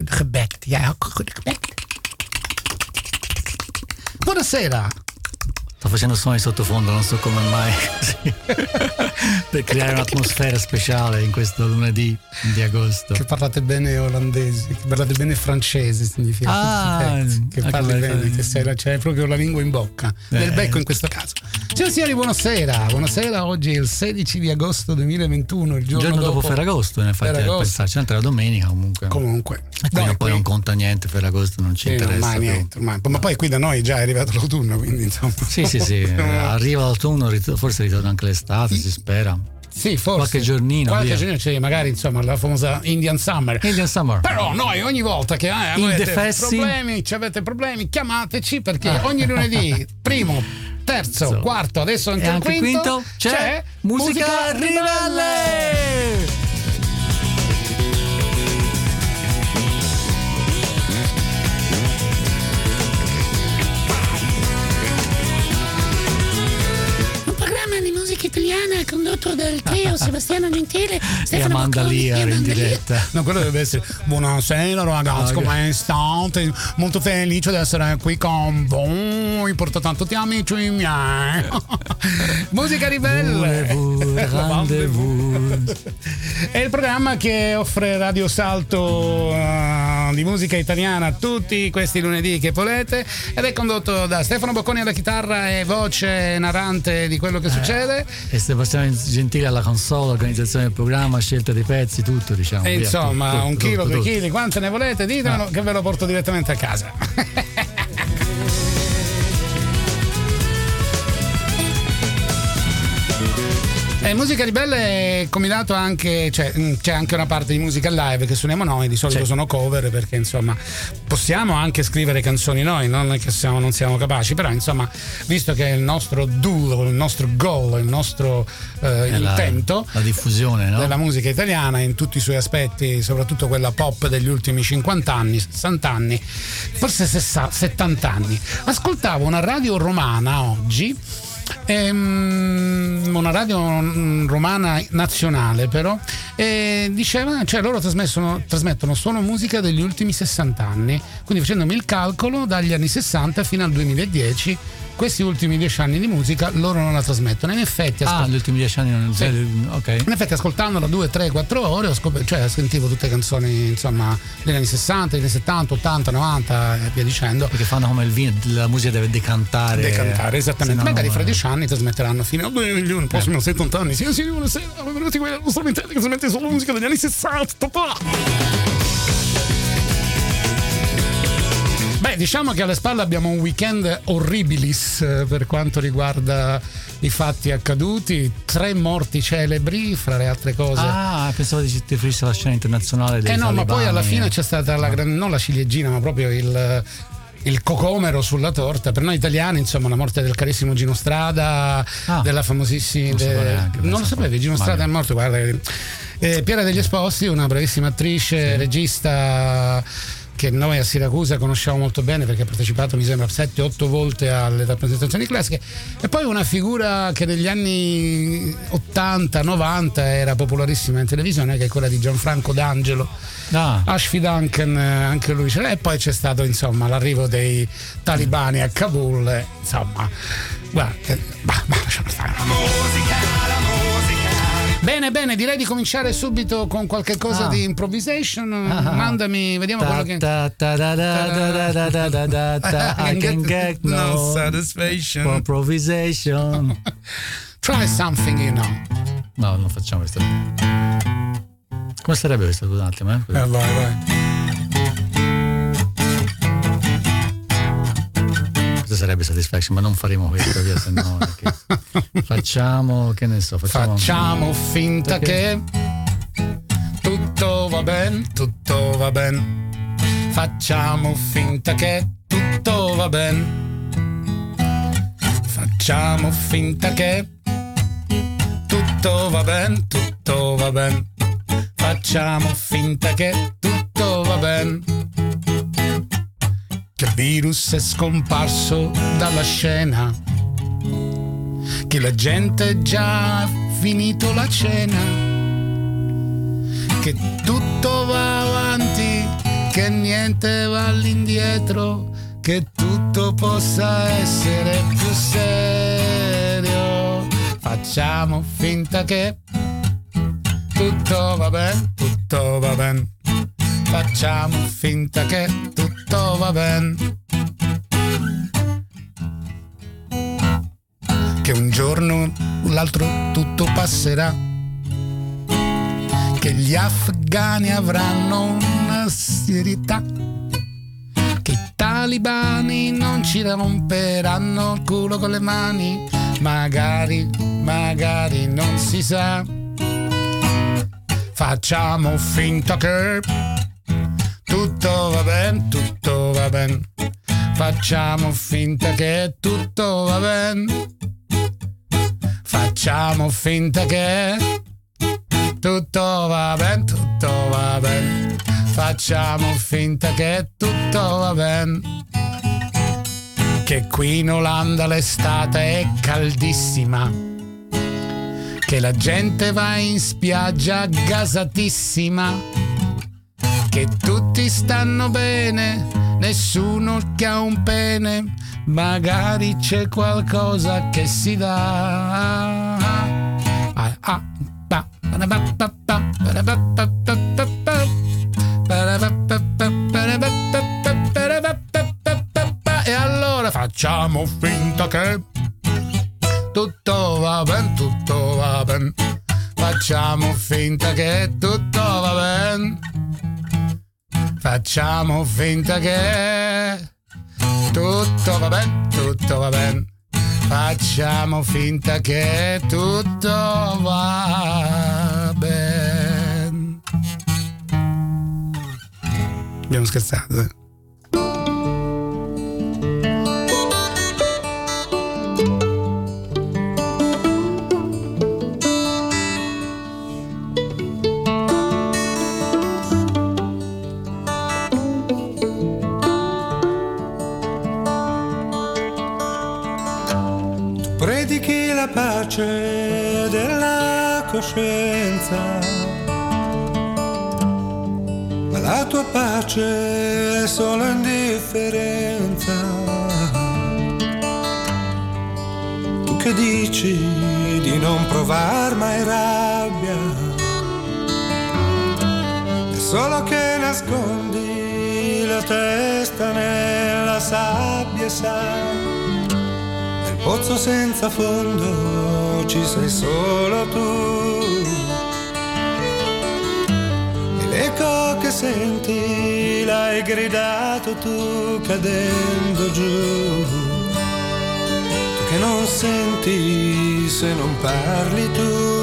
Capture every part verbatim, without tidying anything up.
goed gebekt. Jij ook goed gebekt? Buonasera. Sto facendo suoni sottofondo, non so come mai, per creare un'atmosfera speciale in questo lunedì di agosto. Che parlate bene olandese, che parlate bene francese significa. Ah, che parli bene, che sei, c'hai proprio la lingua in bocca, eh. nel becco in questo caso. Signore e signori, buonasera. Buonasera, oggi è il sedici di agosto duemilaventuno, il giorno, il giorno dopo, dopo Ferragosto, in effetti, a pensarci, anche la domenica comunque. Comunque. E quindi poi non conta niente, Ferragosto non ci sì, interessa. Ormai niente, ormai. Ma poi qui da noi già è arrivato l'autunno, quindi insomma. Sì, sì, sì, arriva l'autunno, forse ritorna anche l'estate, si spera. Sì, forse. Qualche giornino. Qualche via. giornino c'è magari insomma la famosa Indian Summer. Indian Summer. Però noi ogni volta che eh, avete problemi, ci avete problemi, chiamateci perché ah. ogni lunedì, primo, terzo, so. quarto, adesso anche, e anche il quinto, quinto c'è, c'è musica, musica ribelle. ribelle. Italiana condotto dal trio Sebastiano Gentile e Amanda Lear in diretta. No, quello deve essere buonasera ragazzi, okay. Come state? Molto felice di essere qui con voi, porto tanto ti amici miei. Musica ribelle. Rendezvous. È il programma che offre Radio Salto uh, di musica italiana tutti questi lunedì che volete ed è condotto da Stefano Bocconi alla chitarra e voce narrante di quello che eh. succede. E Sebastiano Gentile alla console, organizzazione del programma, scelta dei pezzi, tutto diciamo. E via, insomma, tutto, un tutto, chilo, tutto, due tutto. chili, quante ne volete? Ditemelo ah. che ve lo porto direttamente a casa. E Musica Ribelle è combinato anche, cioè c'è anche una parte di musica live che suoniamo noi, di solito c'è. Sono cover perché insomma possiamo anche scrivere canzoni noi, non è che siamo, non siamo capaci, però insomma visto che è il nostro duo, il nostro goal, il nostro eh, intento, la, la diffusione no? della musica italiana in tutti i suoi aspetti, soprattutto quella pop degli ultimi cinquanta anni, sessanta anni, forse sessanta, settanta anni. Ascoltavo una radio romana oggi, Ehm, una radio romana nazionale però e diceva, cioè loro trasmettono, trasmettono solo musica degli ultimi sessanta anni, quindi facendomi il calcolo dagli anni sessanta fino al duemiladieci questi ultimi dieci anni di musica loro non la trasmettono. In effetti ah ascolt- gli ultimi dieci anni non sì. ok. In effetti ascoltandola due, tre, quattro ore ho scop- cioè sentivo tutte canzoni insomma degli anni sessanta, degli anni settanta, ottanta, novanta e via dicendo, perché fanno come il vino, la musica deve decantare decantare esattamente, magari no, fra dieci anni trasmetteranno fino al duemila, prossimo eh. settanta anni. Sì, sì, buonasera, benvenuti qui alla nostra emittente che trasmette solo musica degli anni sessanta. Beh, diciamo che alle spalle abbiamo un weekend horribilis eh, per quanto riguarda i fatti accaduti, tre morti celebri fra le altre cose. Ah, pensavo di ti riferissi alla scena internazionale dei Eh no, talibani. ma poi alla fine c'è stata la gran, non la ciliegina, ma proprio il il cocomero sulla torta per noi italiani, insomma, la morte del carissimo Gino Strada, ah, della famosissima non, de... neanche, non lo sapevi, Gino Strada è morto, guarda. Eh, Piera degli Esposti, una bravissima attrice, sì. regista che noi a Siracusa conosciamo molto bene perché ha partecipato mi sembra sette otto volte alle rappresentazioni classiche, e poi una figura che negli anni ottanta novanta era popolarissima in televisione, che è quella di Gianfranco D'Angelo, ah. Ashfi Duncan, anche lui c'era, e poi c'è stato insomma l'arrivo dei talibani a Kabul, insomma guarda, bah, bah, lasciamo stare. La musica, la musica. Bene, bene, direi di cominciare subito con qualche cosa ah. di improvisation. Ah. Mandami, vediamo ta, quello che ta, ta, da, da, da, da, da, da, da, da, I can get no, no satisfaction for improvisation. Try something, you know. No, non facciamo questo. Come sarebbe questo? Un attimo, eh? Eh, vai, vai. Sarebbe satisfaction, ma non faremo questo via, se no facciamo, che ne so, facciamo, facciamo finta perché? Che tutto va bene, tutto va bene, facciamo finta che tutto va bene, facciamo finta che tutto va bene, tutto va bene, facciamo finta che tutto va bene, che il virus è scomparso dalla scena, che la gente è già finito la cena, che tutto va avanti, che niente va all'indietro, che tutto possa essere più serio. Facciamo finta che tutto va bene, tutto va bene. Facciamo finta che tutto va bene. Che un giorno o l'altro tutto passerà, che gli afghani avranno una serietà, che i talibani non ci romperanno il culo con le mani, magari, magari non si sa. Facciamo finta che tutto va bene, tutto va bene. Facciamo finta che tutto va bene. Facciamo finta che tutto va bene, tutto va bene. Facciamo finta che tutto va bene. Che qui in Olanda l'estate è caldissima, che la gente va in spiaggia gasatissima, che tutti stanno bene, nessuno che ha un pene, magari c'è qualcosa che si dà. Ah, ah, ba, ba, ba, ba, ba, ba, ba, ba, ba. E allora facciamo finta che tutto va bene, tutto va bene. Facciamo finta che tutto va bene. Facciamo finta che tutto va bene, tutto va bene. Facciamo finta che tutto va bene. Abbiamo scherzato, eh? Predichi la pace della coscienza, ma la tua pace è solo indifferenza. Tu che dici di non provar mai rabbia, è solo che nascondi la testa nella sabbia, sai. Pozzo senza fondo ci sei solo tu, e l'eco che senti l'hai gridato tu cadendo giù. Tu che non senti se non parli tu,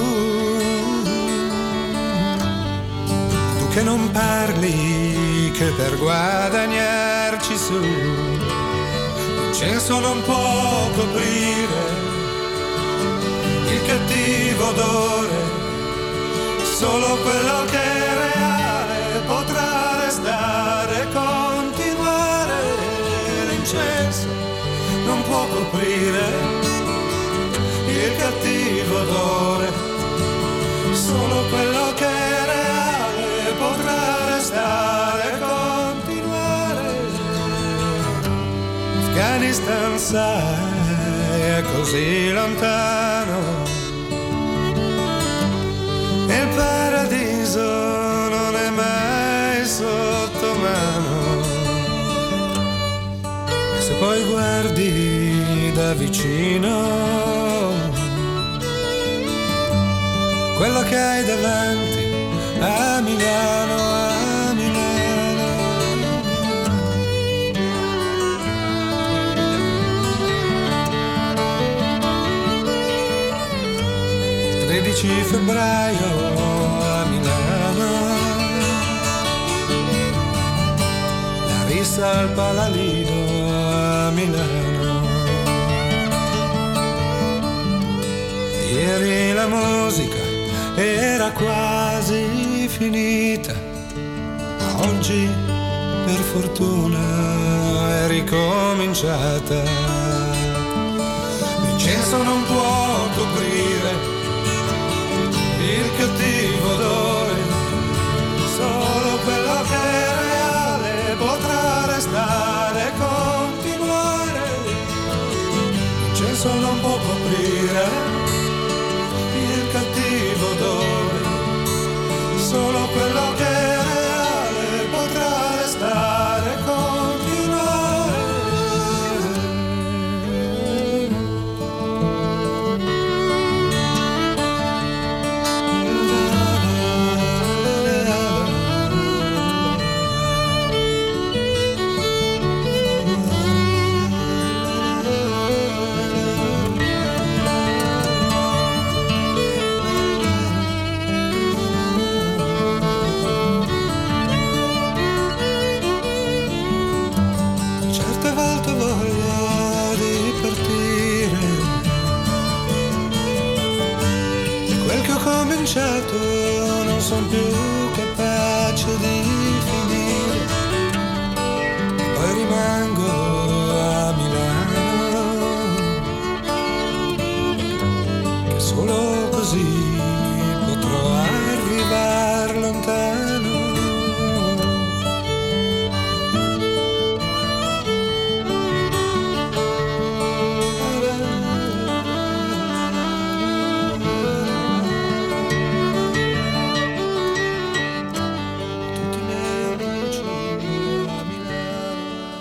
tu che non parli che per guadagnarci su l'incenso non può coprire il cattivo odore, solo quello che è reale potrà restare e continuare. L'incenso non può coprire il cattivo odore, solo quello che è reale potrà restare e continuare. Afghanistan, sai, è così lontano, e il paradiso non è mai sotto mano. E se poi guardi da vicino quello che hai davanti a Milano, a Milano. tredici febbraio a Milano, la rissa al Palalido a Milano. Ieri la musica era quasi finita, ma oggi per fortuna è ricominciata. L'incenso non può coprire il cattivo odore, solo quello che è reale adesso non può coprire il cattivo odore, solo quello che è reale potrà restare e continuare. Certe volte ho voglia di partire, e quel che ho cominciato non sono più capace di finire. Poi rimango a Milano, che solo così potrò arrivare lontano. Tutti i miei amici a Milano.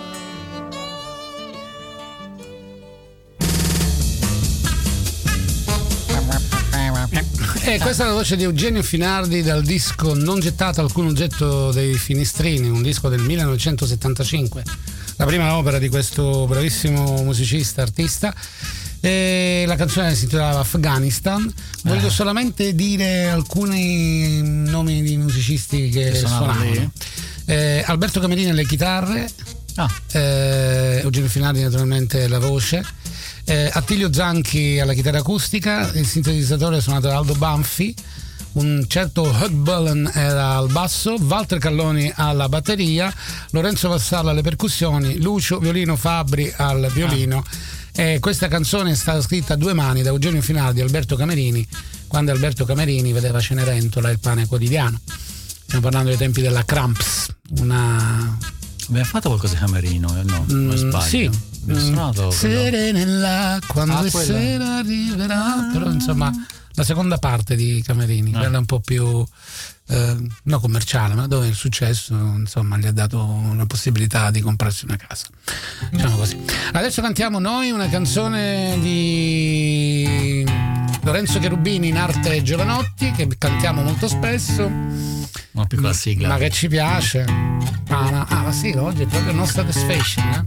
E questa è la voce di Eugenio Finardi dal disco Non gettato alcun oggetto dei finestrini, un disco del millenovecentosettantacinque, la prima opera di questo bravissimo musicista, artista. E la canzone si intitolava Afghanistan. Voglio Eh. solamente dire alcuni nomi di musicisti che, Che suonavano suonavano. lì? Eh, Alberto Camerini alle chitarre, Ah, eh, Eugenio Finardi naturalmente la voce, eh, Attilio Zanchi alla chitarra acustica, il sintetizzatore suonato da Aldo Banfi, un certo Hugh Bullen era al basso, Walter Calloni alla batteria, Lorenzo Vassalla alle percussioni, Lucio Violino Fabbri al violino. E questa canzone è stata scritta a due mani da Eugenio Finardi e Alberto Camerini, quando Alberto Camerini vedeva Cenerentola, Il pane quotidiano. Stiamo parlando dei tempi della Cramps, una abbiamo fatto qualcosa di Camerino, eh? No, non Mm, sbaglio. sì. Abbiamo Mm, suonato quello. Serena quando Ah, è quella. sera arriverà, però insomma la seconda parte di Camerini, Ah. quella un po' più eh, no commerciale, ma dove il successo insomma gli ha dato una possibilità di comprarsi una casa, diciamo così. Adesso cantiamo noi una canzone di Lorenzo Cherubini in arte Giovanotti, che cantiamo molto spesso, Una piccola sigla. ma che ci piace. Ah, ma, ah, ma sì, oggi è proprio nostra desfashion, eh?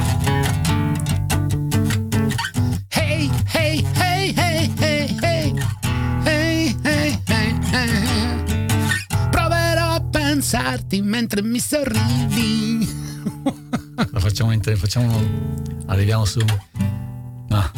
Hey, hey, hey, hey, hey, hey, hey, hey, hey, hey. Proverò a pensarti mentre mi sorridi. La facciamo, inter- facciamo arriviamo su. Ah.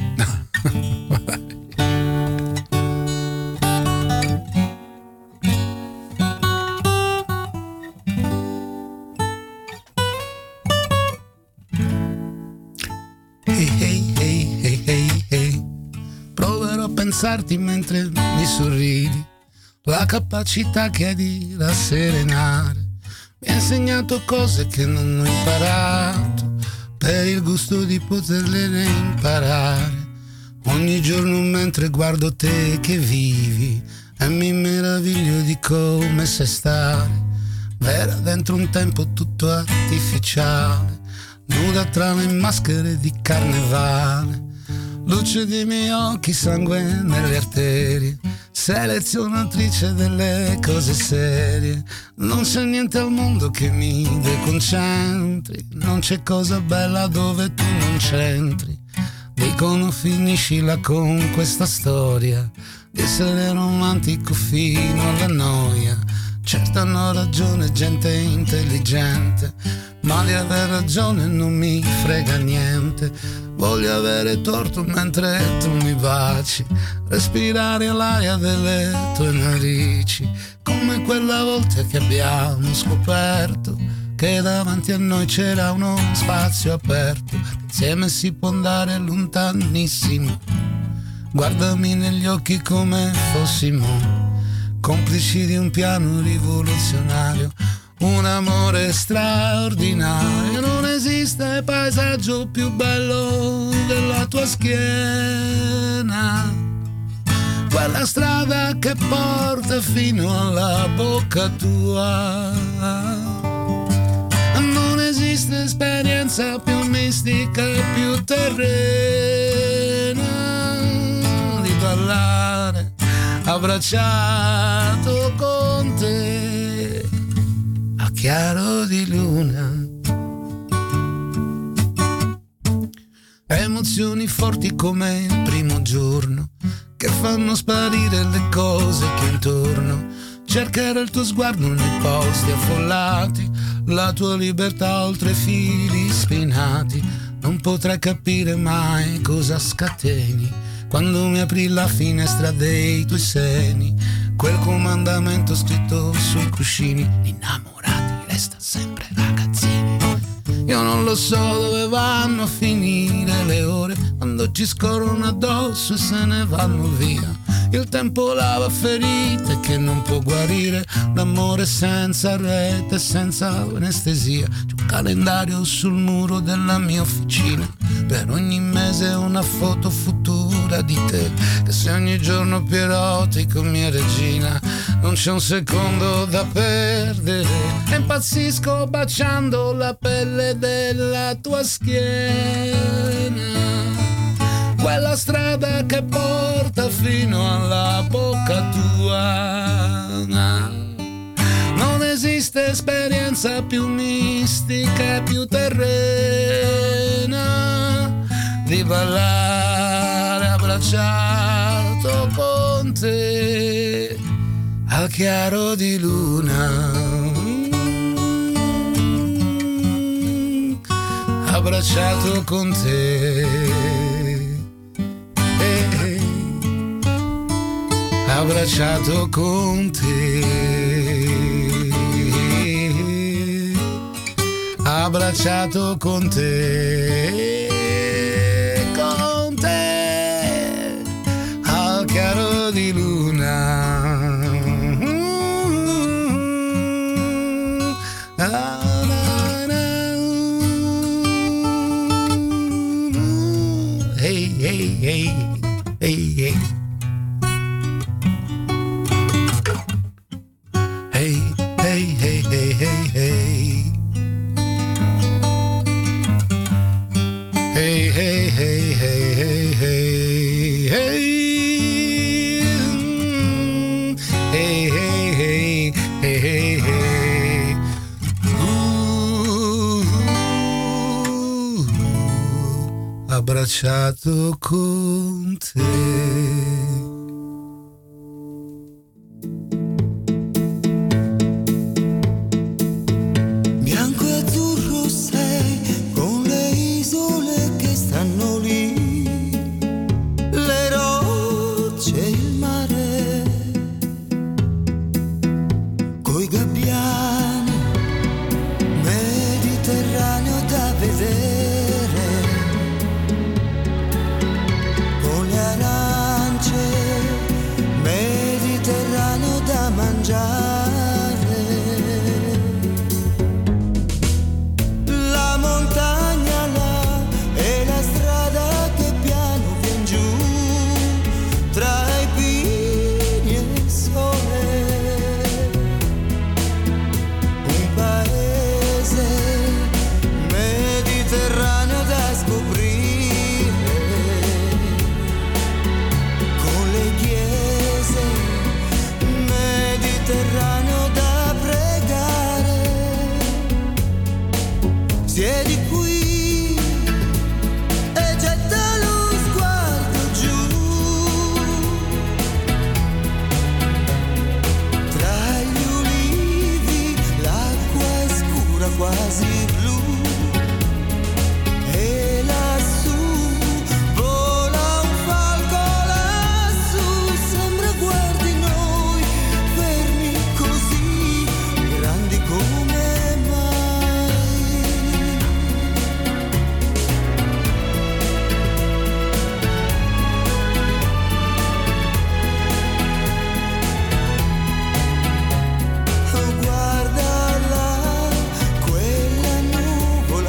Hey, hey, hey, hey, hey, hey. Proverò a pensarti mentre mi sorridi. La capacità che hai di rasserenare mi ha insegnato cose che non ho imparato, per il gusto di poterle imparare. Ogni giorno mentre guardo te che vivi e mi meraviglio di come sai stare, vera dentro un tempo tutto artificiale, nuda tra le maschere di carnevale. Luce dei miei occhi, sangue nelle arterie, selezionatrice delle cose serie. Non c'è niente al mondo che mi deconcentri, non c'è cosa bella dove tu non c'entri. Dicono finiscila con questa storia di essere romantico fino alla noia. Certo hanno ragione gente intelligente, ma di aver ragione non mi frega niente. Voglio avere torto mentre tu mi baci, respirare l'aria delle tue narici, come quella volta che abbiamo scoperto che davanti a noi c'era uno spazio aperto, insieme si può andare lontanissimo. Guardami negli occhi come fossimo complici di un piano rivoluzionario, un amore straordinario. Non esiste paesaggio più bello della tua schiena, quella strada che porta fino alla bocca tua. Non esiste esperienza più mistica e più terrena di ballare abbracciato con te a chiaro di luna. Emozioni forti come il primo giorno che fanno sparire le cose che intorno. Cercherò il tuo sguardo nei posti affollati, la tua libertà oltre fili spinati. Non potrai capire mai cosa scateni quando mi apri la finestra dei tuoi seni. Quel comandamento scritto sui cuscini: innamorati resta sempre ragazzini. Io non lo so dove vanno a finire le ore quando ci scorrono addosso e se ne vanno via. Il tempo lava ferite che non può guarire, l'amore senza rete, senza anestesia. C'è un calendario sul muro della mia officina, per ogni mese una foto futura di te, che sei ogni giorno più erotico, mia regina. Non c'è un secondo da perdere e impazzisco baciando la pelle della tua schiena, quella strada che porta fino alla bocca tua. Non esiste esperienza più mistica e più terrena di ballare abbracciato con te al chiaro di luna, abbracciato con te. Abbracciato con te, abbracciato con te, con te, al chiaro di luna. Hey, hey, hey, hey, hey. Hey, hey, hey, hey, hey, hey. Hey, hey, hey, hey, hey, hey, hey. Hey, hey, hey, hey, hey, hey. Uh, abbracciato con te. Guarda là, quella nuvola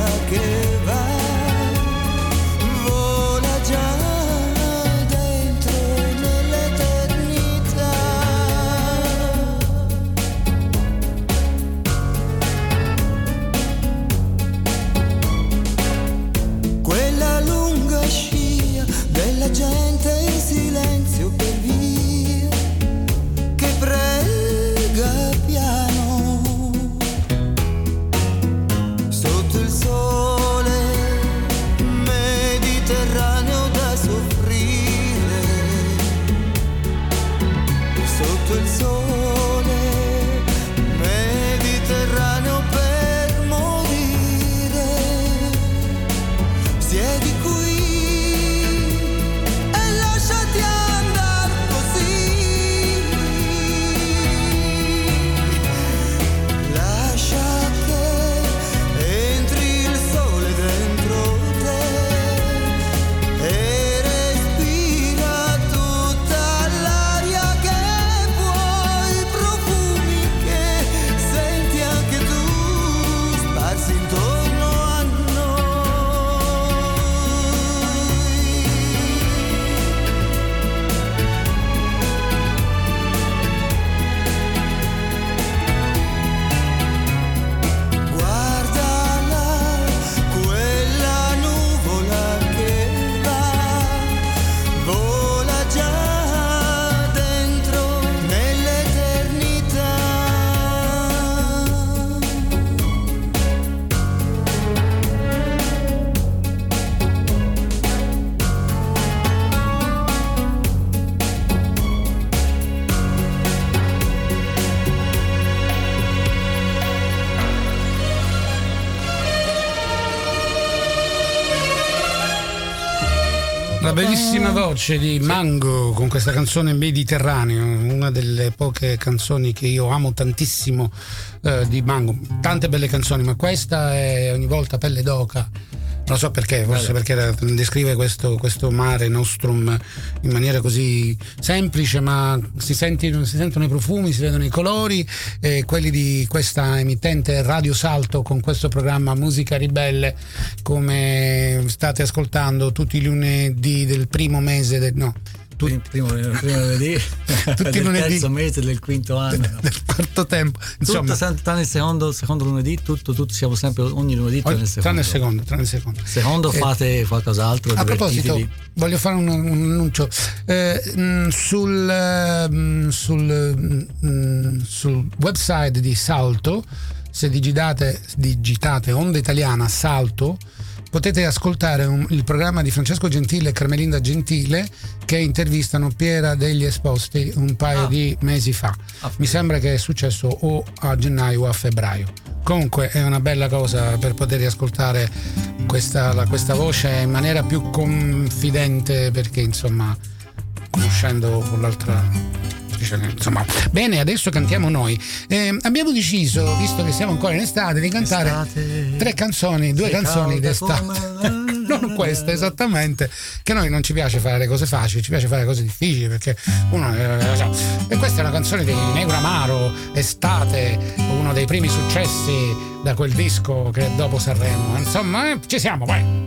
la bellissima voce di Mango con questa canzone Mediterraneo, una delle poche canzoni che io amo tantissimo eh, di Mango. Tante belle canzoni, ma questa è ogni volta pelle d'oca. Non so perché, forse perché descrive questo, questo mare nostrum in maniera così semplice, ma si, senti, si sentono i profumi, si vedono i colori, e quelli di questa emittente Radio Salto con questo programma Musica Ribelle, come state ascoltando tutti i lunedì del primo mese del, no Tutti, primo, primo lunedì tutti del lunedì, terzo mese del quinto anno, del, del quarto tempo, insomma, tutto tranne il secondo, secondo lunedì, tutto, tutto siamo sempre ogni lunedì tranne il secondo. Tranne il secondo, tranne il secondo. Secondo eh, fate qualcos'altro. A proposito, voglio fare un, un annuncio eh, mh, sul, mh, sul, mh, sul website di Salto. Se digitate, digitate Onda Italiana Salto, potete ascoltare un, il programma di Francesco Gentile e Carmelinda Gentile, che intervistano Piera degli Esposti un paio ah. di mesi fa. Ah, Mi sembra che è successo o a gennaio o a febbraio. Comunque è una bella cosa per poter ascoltare questa, la, questa voce in maniera più confidente, perché insomma, conoscendo l'altra... Insomma, bene, adesso cantiamo noi. Eh, abbiamo deciso, visto che siamo ancora in estate, di cantare estate, tre canzoni, due canzoni d'estate. Non queste esattamente, che noi non ci piace fare le cose facili, ci piace fare cose difficili, perché uno e questa è una canzone di Negro Amaro, Estate, uno dei primi successi da quel disco che è dopo Sanremo. Insomma, eh, ci siamo, vai.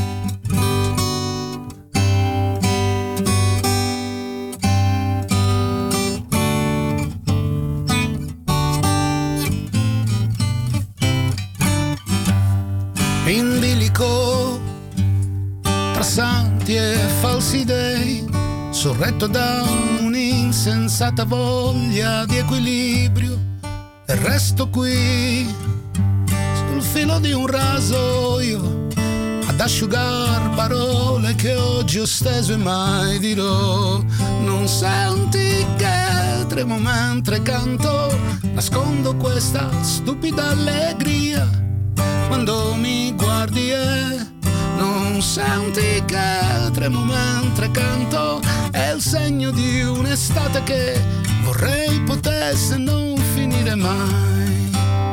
In bilico tra santi e falsi dei, sorretto da un'insensata voglia di equilibrio, e resto qui sul filo di un rasoio ad asciugar parole che oggi ho steso e mai dirò. Non senti che tremo mentre canto, nascondo questa stupida allegria quando mi guardi, e non senti che tremo mentre canto. È il segno di un'estate che vorrei potesse non finire mai.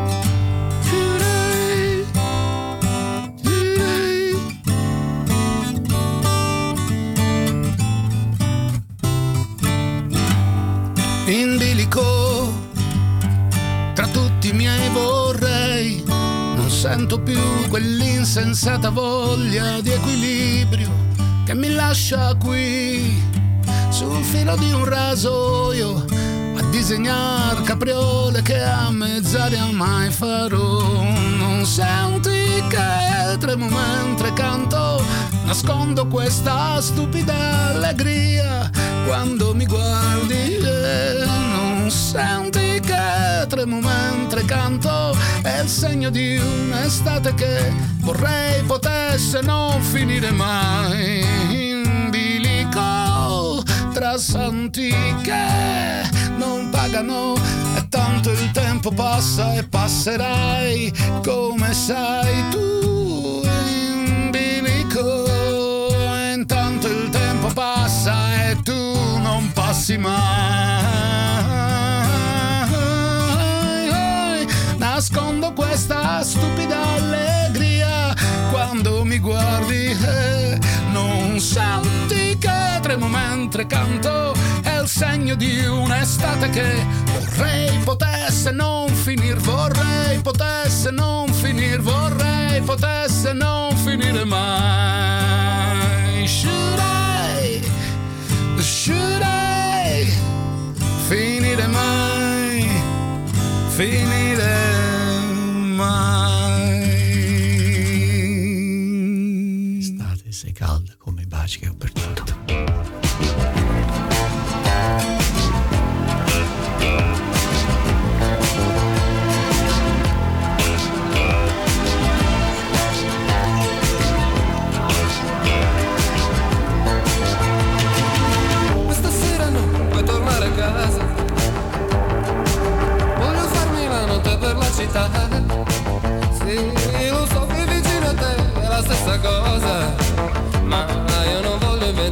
In bilico tra tutti i miei vorrei, non sento più quell'insensata voglia di equilibrio che mi lascia qui sul filo di un rasoio a disegnar capriole che a mezz'aria mai farò. Non senti che tremo mentre canto, nascondo questa stupida allegria quando mi guardi, e non senti che tremo mentre canto. È il segno di un'estate che vorrei potesse non finire mai. In bilico tra santi che non pagano, e tanto il tempo passa e passerai come sai tu. In bilico e intanto il tempo passa e tu non passi mai. Nascondo questa stupida allegria quando mi guardi, e non senti che tremo mentre canto. È il segno di un'estate che vorrei potesse non finir, vorrei potesse non finir, vorrei potesse non finire mai. Should I, should I finire mai, finire mai. Estate, sei calda come i baci che ho perduto. Città. Sì, lo so che vicino a te è la stessa cosa, ma io non voglio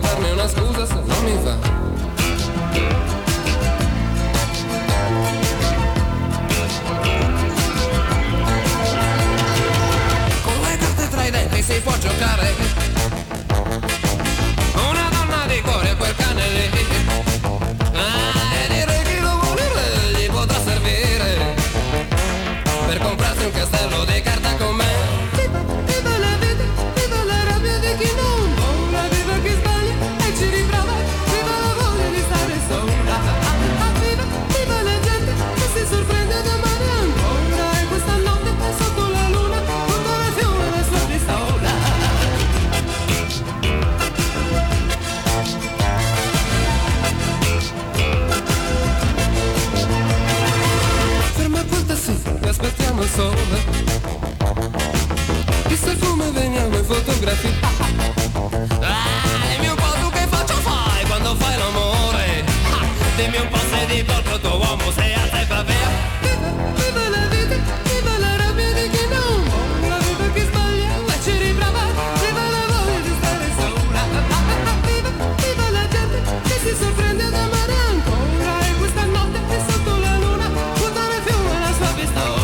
chissà come veniamo in fotografia. Ah, dimmi un po' tu che faccio fai quando fai l'amore. Ah, dimmi un po' se di colpo il tuo uomo sei alza e va via. Viva, viva la vita, viva la rabbia di chi non vuole, viva chi sbaglia e ci riprova, viva la voglia di stare sola. Viva, viva la gente che si sorprende ad amare ancora, e questa notte è sotto la luna buttare a fiume la sua pistola.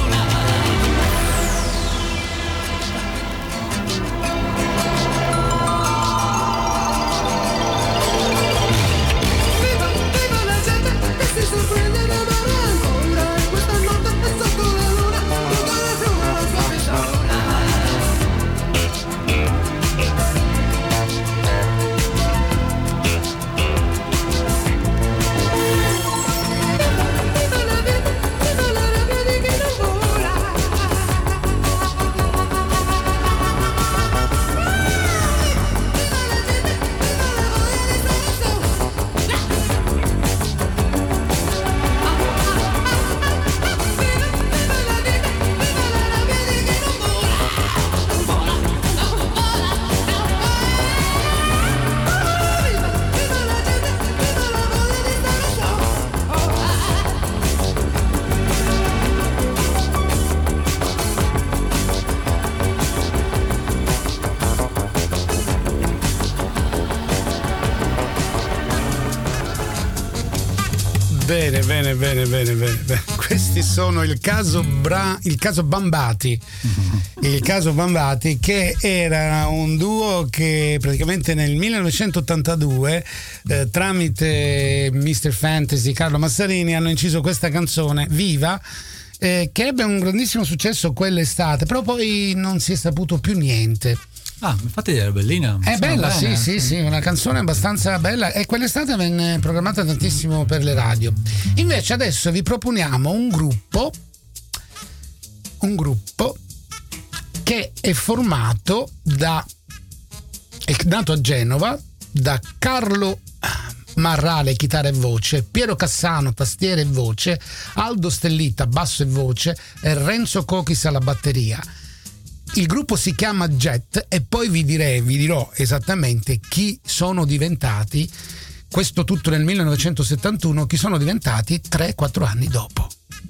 Viva, viva la gente che si sorprende ad amare ancora, e questa notte è sotto la luna buttare a fiume la sua pistola. Viva la vita, viva la rabbia di chi non vola. Bene, bene, bene, bene, bene, bene. Questi sono il caso Bra- il caso Bambati. Il caso Bambati, che era un duo che praticamente nel millenovecentottantadue eh, tramite mister Fantasy Carlo Massarini hanno inciso questa canzone Viva, eh, che ebbe un grandissimo successo quell'estate, però poi non si è saputo più niente. Ah, infatti era bellina. È bella, bene. sì, sì, sì, una canzone abbastanza bella, e quell'estate venne programmata tantissimo per le radio. Invece adesso vi proponiamo un gruppo, un gruppo che è formato da, è nato a Genova, da Carlo Marrale, chitarra e voce, Piero Cassano, tastiere e voce, Aldo Stellita, basso e voce, e Renzo Cochis alla batteria. Il gruppo si chiama Jet, e poi vi direi, vi dirò esattamente chi sono diventati, questo tutto nel millenovecentosettantuno, chi sono diventati tre quattro anni dopo.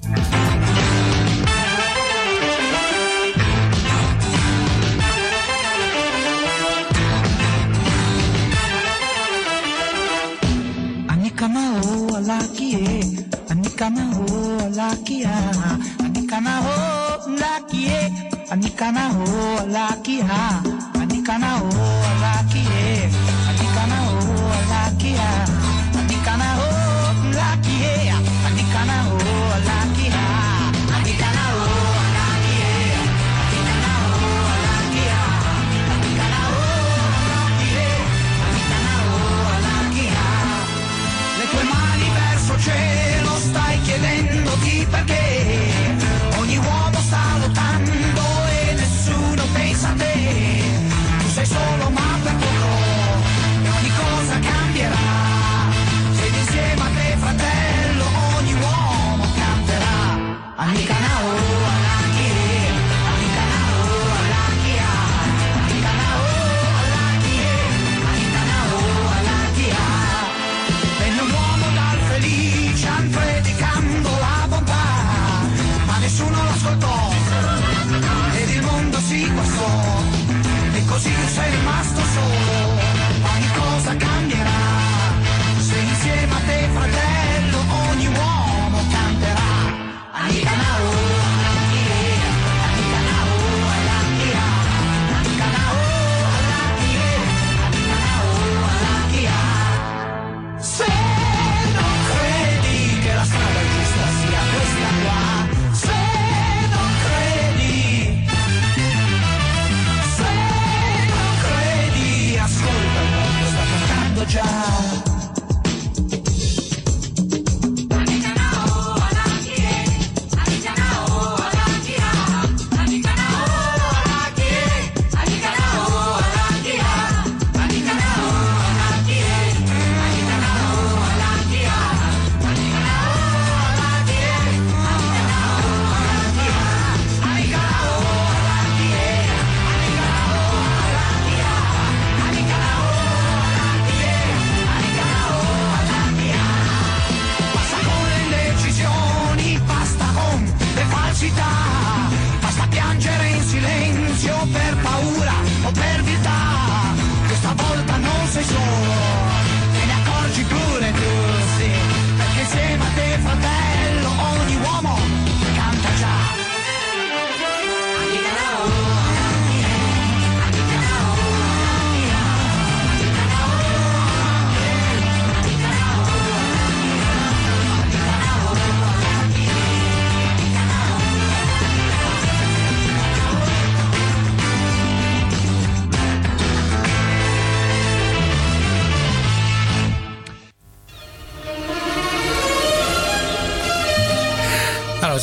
Anikana ho alakie, anikana ho alakia, anikana ho lakie. Anikana ho alakia, anikana ho alakie, anikana ho alakia, anikana ho lakia, anikana ho alakia, anikana ho alakie, anikana ho alakia, anikana ho alakie, anikana ho alakia. Le tue mani verso cielo stai chiedendoti perché ogni uomo sta lottando e nessuno pensa a te. Tu sei solo ma per poco e ogni cosa cambierà. Sei insieme a te fratello, ogni uomo canterà. Anikana o alakie, anikana o alakia, anikana o alakie, anikana o alakia. Venne un uomo dal felice predicando la bontà, ma nessuno l'ascoltò ed il mondo si guastò, e così sei rimasto solo. Ogni cosa cambierà, se insieme a te fratello ogni uomo canterà. Anikana o alakie, anikana o alakia, anikana o alakie, anikana o alakia. Se non credi che la strada giusta sia questa qua, se non credi, se non credi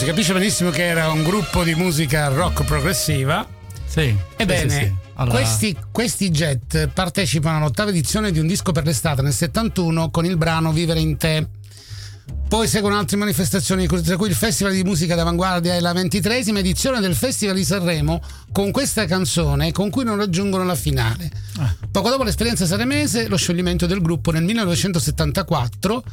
si capisce benissimo che era un gruppo di musica rock progressiva. Sì. Ebbene, sì, sì, sì. Allora... questi, questi Jet partecipano all'ottava edizione di Un disco per l'estate nel settantuno con il brano Vivere in te. Poi seguono altre manifestazioni, tra cui il Festival di Musica d'Avanguardia e la ventitreesima edizione del Festival di Sanremo con questa canzone con cui non raggiungono la finale. Ah. Poco dopo l'esperienza sanremese, lo scioglimento del gruppo nel millenovecentosettantaquattro.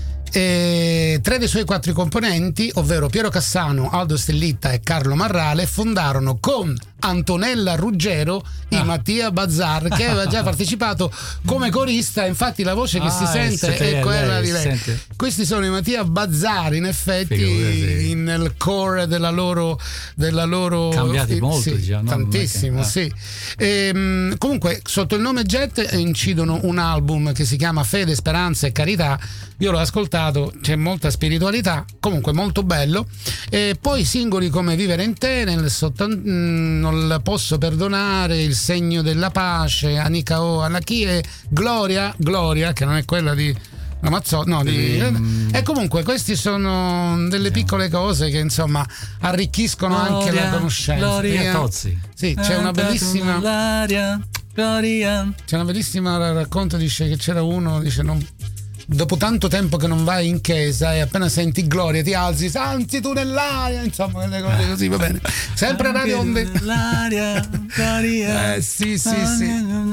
E tre dei suoi quattro componenti, ovvero Piero Cassano, Aldo Stellitta e Carlo Marrale, fondarono con Antonella Ruggero i ah. Mattia Bazzar, che aveva già partecipato come corista. Infatti la voce che ah, si sente è quella lei, di lei. Sente. Questi sono i Mattia Bazzar, in effetti, Figurati. nel core della loro della loro cambiati eh, molto sì, già, no? tantissimo, Che, sì. E, comunque sotto il nome Jet incidono un album che si chiama Fede, Speranza e Carità. Io l'ho ascoltato, c'è molta spiritualità, comunque molto bello. E poi singoli come Vivere in te, nel sottan- Non la posso perdonare, Il segno della pace, Anika O, Anaki e Gloria, Gloria, che non è quella di Ramazzotti, no, di, mm. e comunque questi sono delle piccole cose che insomma arricchiscono Gloria, anche la conoscenza. Gloria Tozzi. Sì, c'è una bellissima Gloria, Gloria. C'è una bellissima racconto, dice che c'era uno, dice non dopo tanto tempo che non vai in chiesa e appena senti Gloria ti alzi, santi tu nell'aria, insomma quelle cose così, va bene. Sempre Radio Onde. L'aria, Gloria. Eh sì, sì, sì.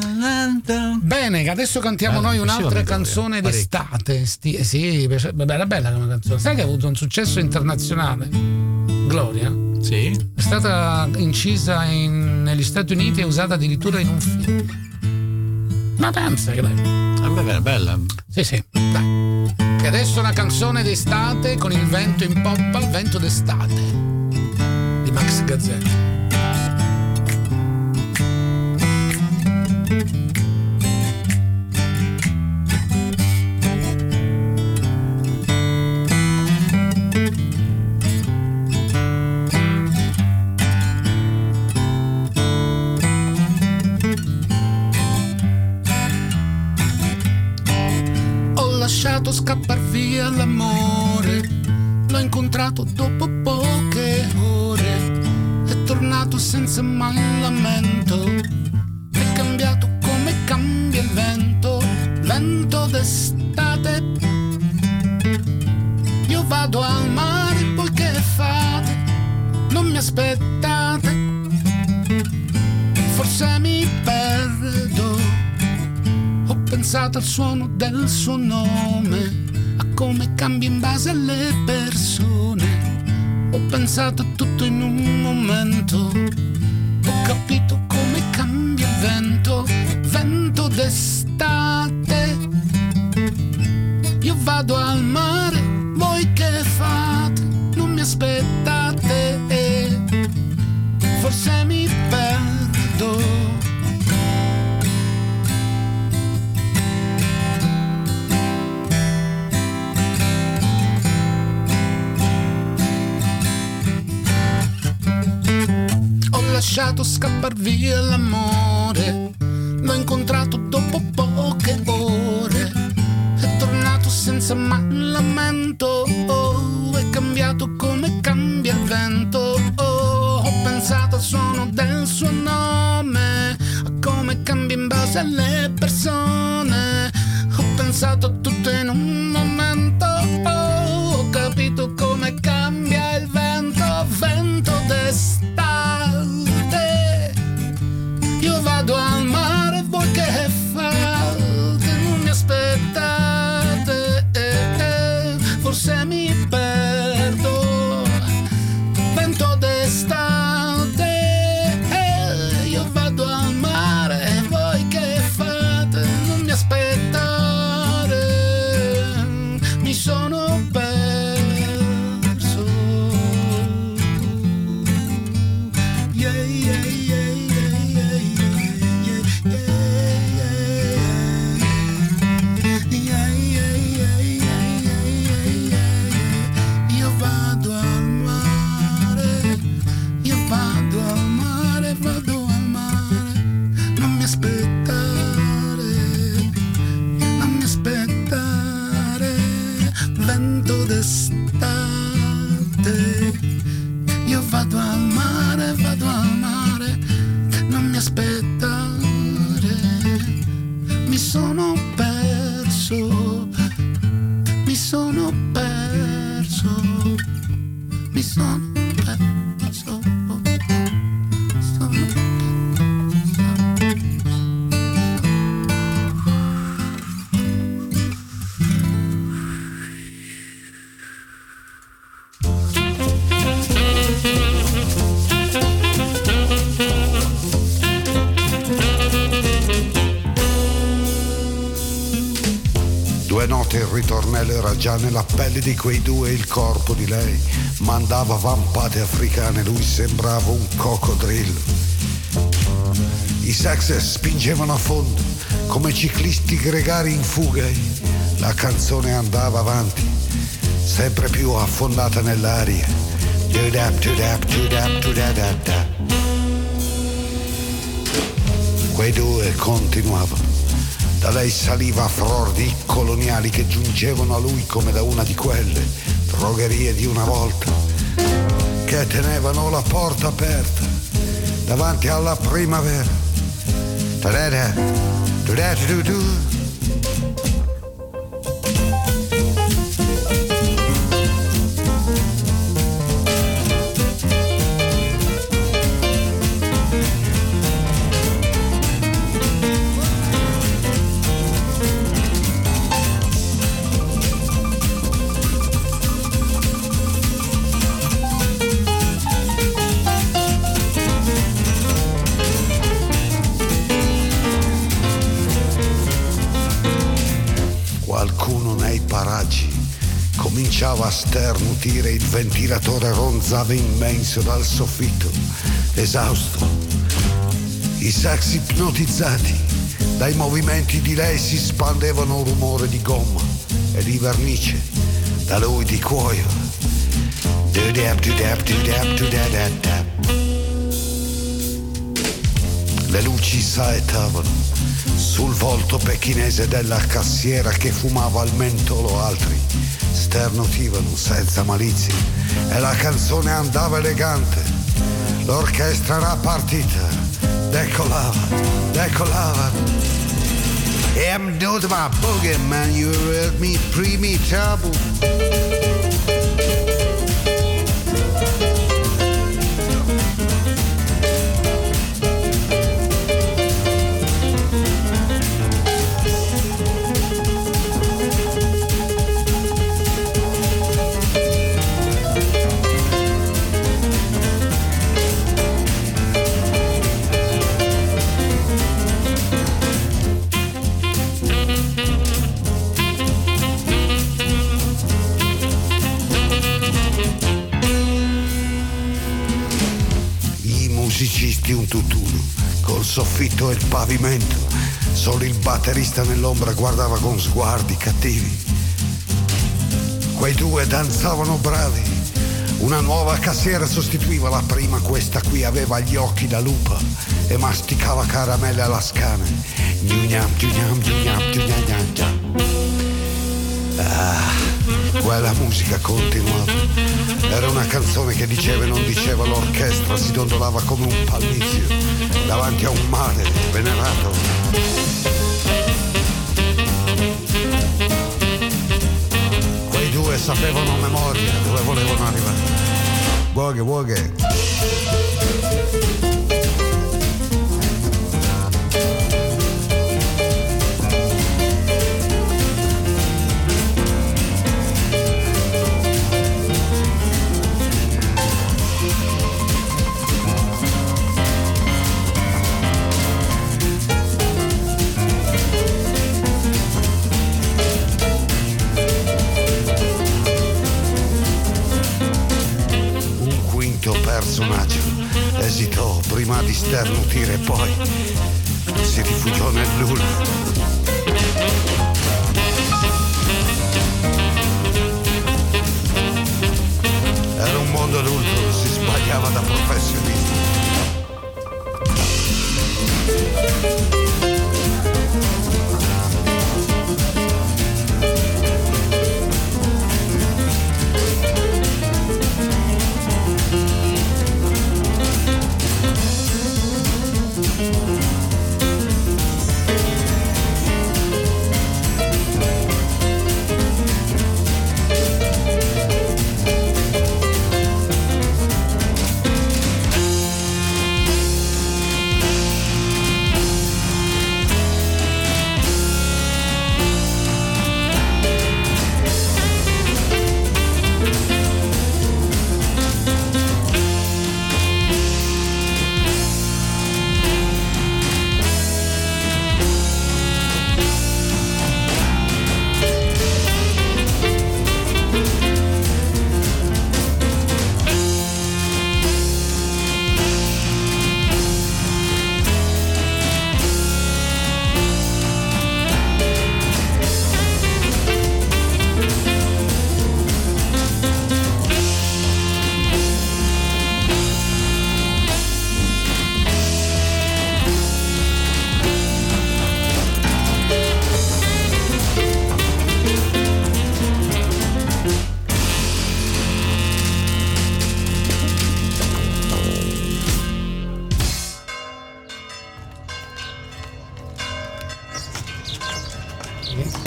Bene, adesso cantiamo Bello, noi un'altra canzone Gloria. d'estate. Sti, sì, beh, era bella come canzone. Sai che ha avuto un successo internazionale? Gloria? Sì. È stata incisa in, negli Stati Uniti e usata addirittura in un film. Ma pensa che lei. È bella. Sì, sì, dai. E adesso una canzone d'estate con il vento in poppa, il vento d'estate di Max Gazzè. Lasciato scappar via l'amore, l'ho incontrato dopo poche ore, è tornato senza mai lamento, è cambiato come cambia il vento, vento d'estate. Io vado al mare, poi che fate? Non mi aspettate, forse mi perdo. Ho pensato al suono del suo nome, a come cambia in base alle persone. Ho pensato a tutto in un momento, ho capito come cambia il vento, vento d'estate. Io vado al mare, voi che fate? Non mi aspettate, forse mi perdo. Lasciato scappar via l'amore, l'ho incontrato dopo poche ore, è tornato senza mai lamento, oh, è cambiato come cambia il vento, oh, ho pensato al suono del suo nome, a come cambia in base alle persone, ho pensato a tutto in un momento, oh, ho capito come cambia il vento, vento d'estate. Io vado al mare, voi che fate? Non mi aspettate, eh, eh, forse mi perdo. Vento d'estate, eh, io vado al mare, voi che fate? Non mi aspettate. note il ritornello era già nella pelle di quei due, il corpo di lei mandava vampate africane, lui sembrava un coccodrillo. I sax spingevano a fondo come ciclisti gregari in fuga, la canzone andava avanti sempre più affondata nell'aria. Quei due continuavano. Da lei saliva fror di coloniali che giungevano a lui come da una di quelle drogherie di una volta, che tenevano la porta aperta davanti alla primavera. Da-da-da, da-da-da-da-da. Cominciava a sternutire, il ventilatore ronzava immenso dal soffitto, esausto. I sax ipnotizzati dai movimenti di lei si spandevano un rumore di gomma e di vernice, da lui di cuoio. Le luci saettavano sul volto pechinese della cassiera che fumava al mentolo, altri sternutivano senza malizia e la canzone andava elegante. L'orchestra era partita, decolava, decolava. I'm not my boogie man, you heard me primi taboo. Musicisti un tutt'uno, col soffitto e il pavimento, solo il batterista nell'ombra guardava con sguardi cattivi. Quei due danzavano bravi, una nuova cassiera sostituiva la prima, questa qui aveva gli occhi da lupa e masticava caramelle alla scana. Ah, quella musica continuava. Era una canzone che diceva e non diceva, l'orchestra si dondolava come un pallizio davanti a un mare venerato. Quei due sapevano a memoria dove volevano arrivare. Boghe, boghe. Personaggio esitò prima di sternutire e poi si rifugiò nel nulla. Era un mondo adulto, si sbagliava da professionisti.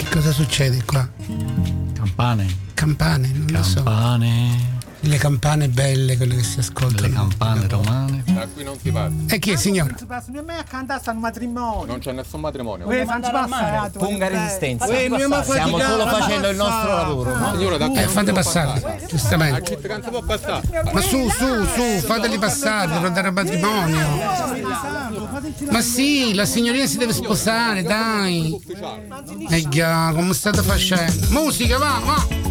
Cosa succede qua? Campane. Campane, non lo so. Campane. Le campane belle, quelle che si ascoltano. Le campane romane. Da qui non si passa. E chi è il signore? Non si passa, mia a cantare sta un matrimonio. Non c'è nessun matrimonio. Uè, facci passare. Funga resistenza. Uè, mia ma Stiamo solo facendo il nostro lavoro. No? Signora, da qui Eh, non fate si può passare, passare. giustamente. A chi non si può passare? Ma su, su, su, fateli passare, devono andare al matrimonio. Ma sì, la signorina si deve sposare, dai. E già, come state facendo? Musica, va, va.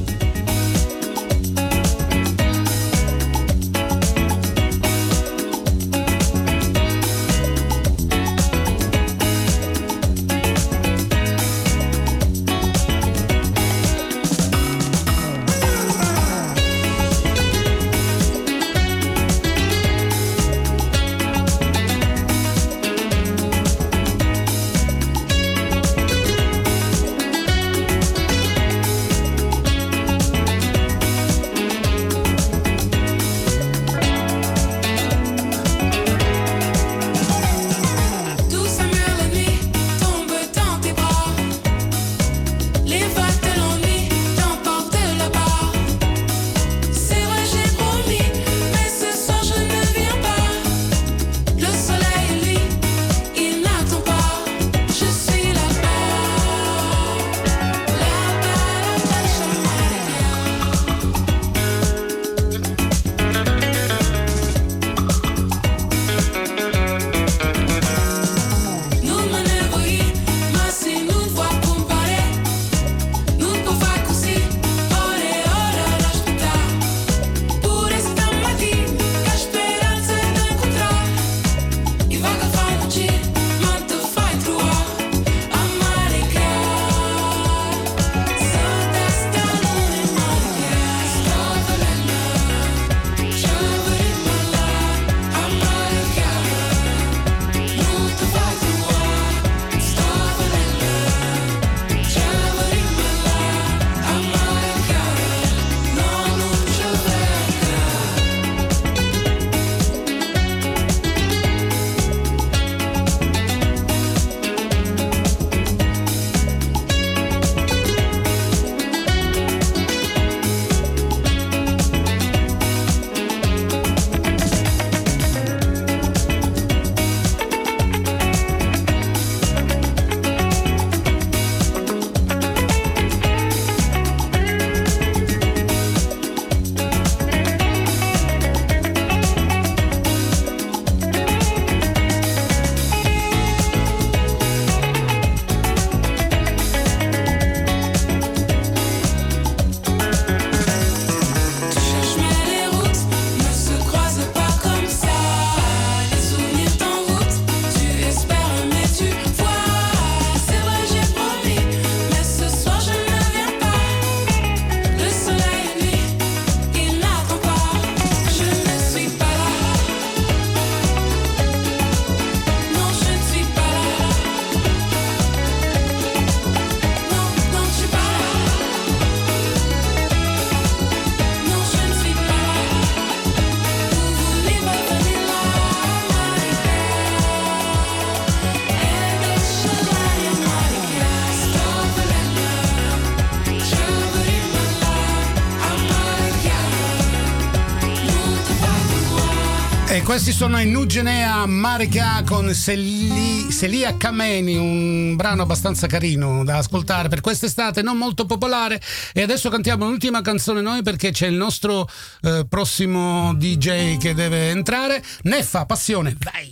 E questi sono i Nugenea Marika con Seli, Selia Kameni, un brano abbastanza carino da ascoltare per quest'estate, non molto popolare. E adesso cantiamo l'ultima canzone noi, perché c'è il nostro eh, prossimo D J che deve entrare. Neffa, passione, vai!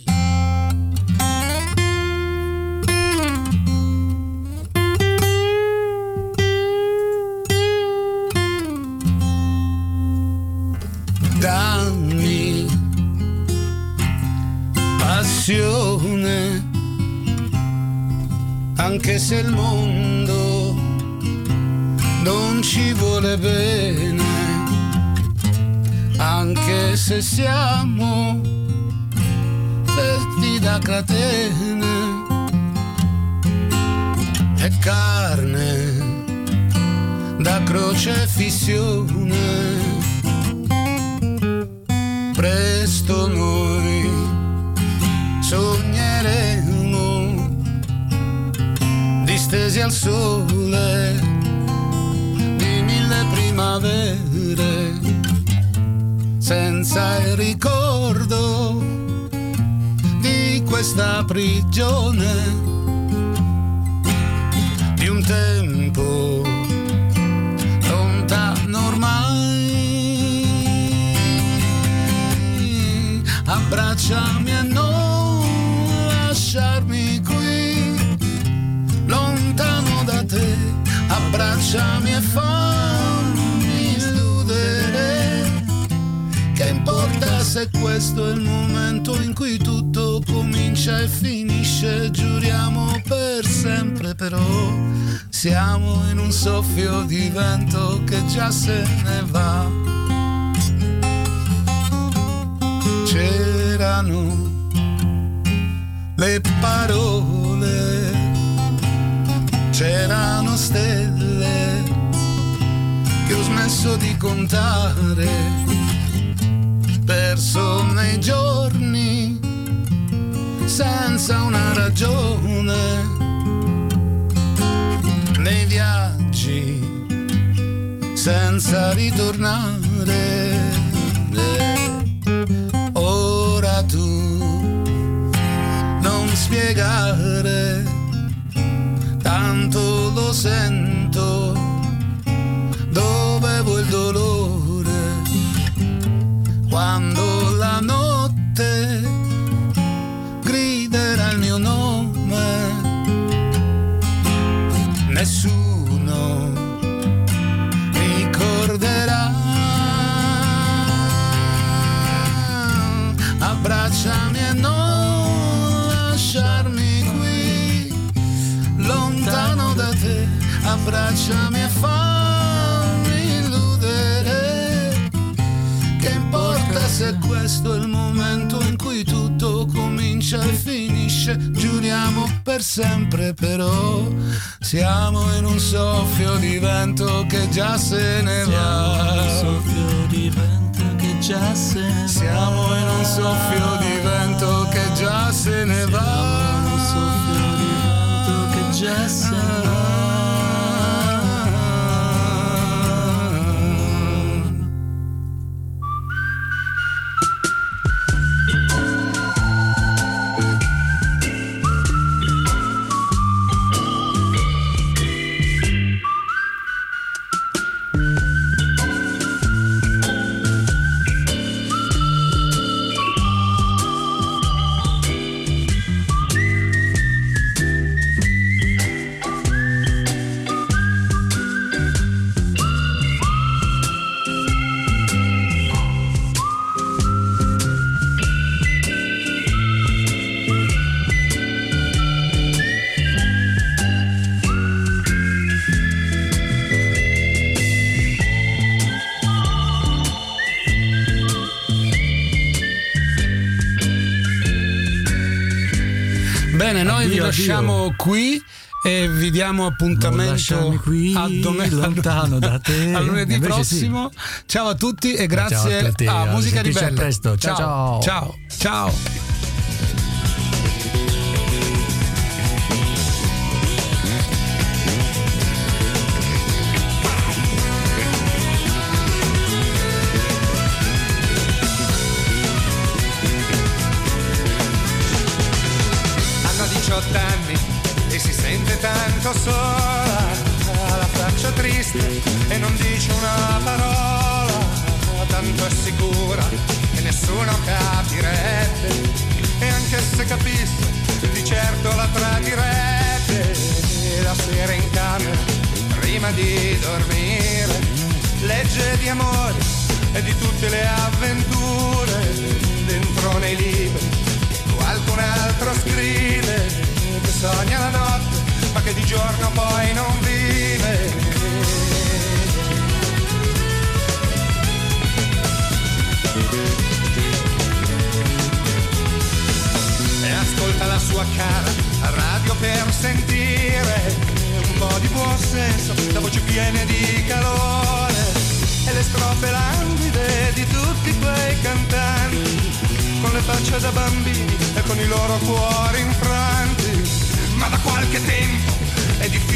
Dammi passione, anche se il mondo non ci vuole bene, anche se siamo fetti da catene, è carne da crocefissione. Presto noi sogneremo di stesi al sole di mille primavere, senza il ricordo di questa prigione, di un tempo lontano ormai. Abbracciami e non lasciarmi qui, lontano da te. Abbracciami e fammi illudere. Che importa se questo è il momento in cui tutto comincia e finisce? Giuriamo per sempre, però siamo in un soffio di vento che già se ne va. C'erano le parole, c'erano stelle che ho smesso di contare, perso nei giorni senza una ragione, nei viaggi senza ritornare. Ora tu non spiegare, tanto lo sento, dovevo il dolore quando la notte griderà il mio nome. Nessuno ricorderà. Abbracciami e non lasciarmi qui, lontano da te. Abbracciami e fammi illudere. Che importa se questo è il momento in cui tutto comincia e finisce? Giuriamo per sempre, però siamo in un soffio di vento che già se ne va. Un soffio di vento che già se ne va. Siamo in un soffio di vento che già se ne va. Un soffio di vento che già se ne va. Bene, noi addio, vi lasciamo addio. qui e vi diamo appuntamento qui, a domenica, lontano da te. a lunedì Invece prossimo. Sì. Ciao a tutti e grazie ciao a, tutti, a Musica Ribelle. Ribelle. Presto. Ciao ciao. Ciao. Ciao. diciotto anni e si sente tanto sola, ha la faccia triste e non dice una parola, tanto è sicura che nessuno capirebbe, e anche se capisse di certo la tradirebbe. La sera in camera prima di dormire legge di amore e di tutte le avventure dentro nei libri. Qualcun altro scrive che sogna la notte ma che di giorno poi non vive. E ascolta la sua cara radio per sentire un po' di buon senso, la voce piena di calore e le strofe languide di tutti quei cantanti con le facce da bambini e con i loro cuori infranti. Ma da qualche tempo è difficile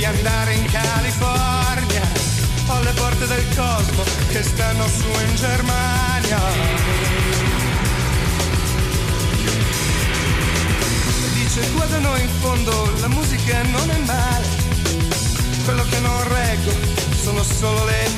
di andare in California o alle porte del cosmo che stanno su in Germania. Dice qua da noi in fondo la musica non è male, quello che non reggo sono solo le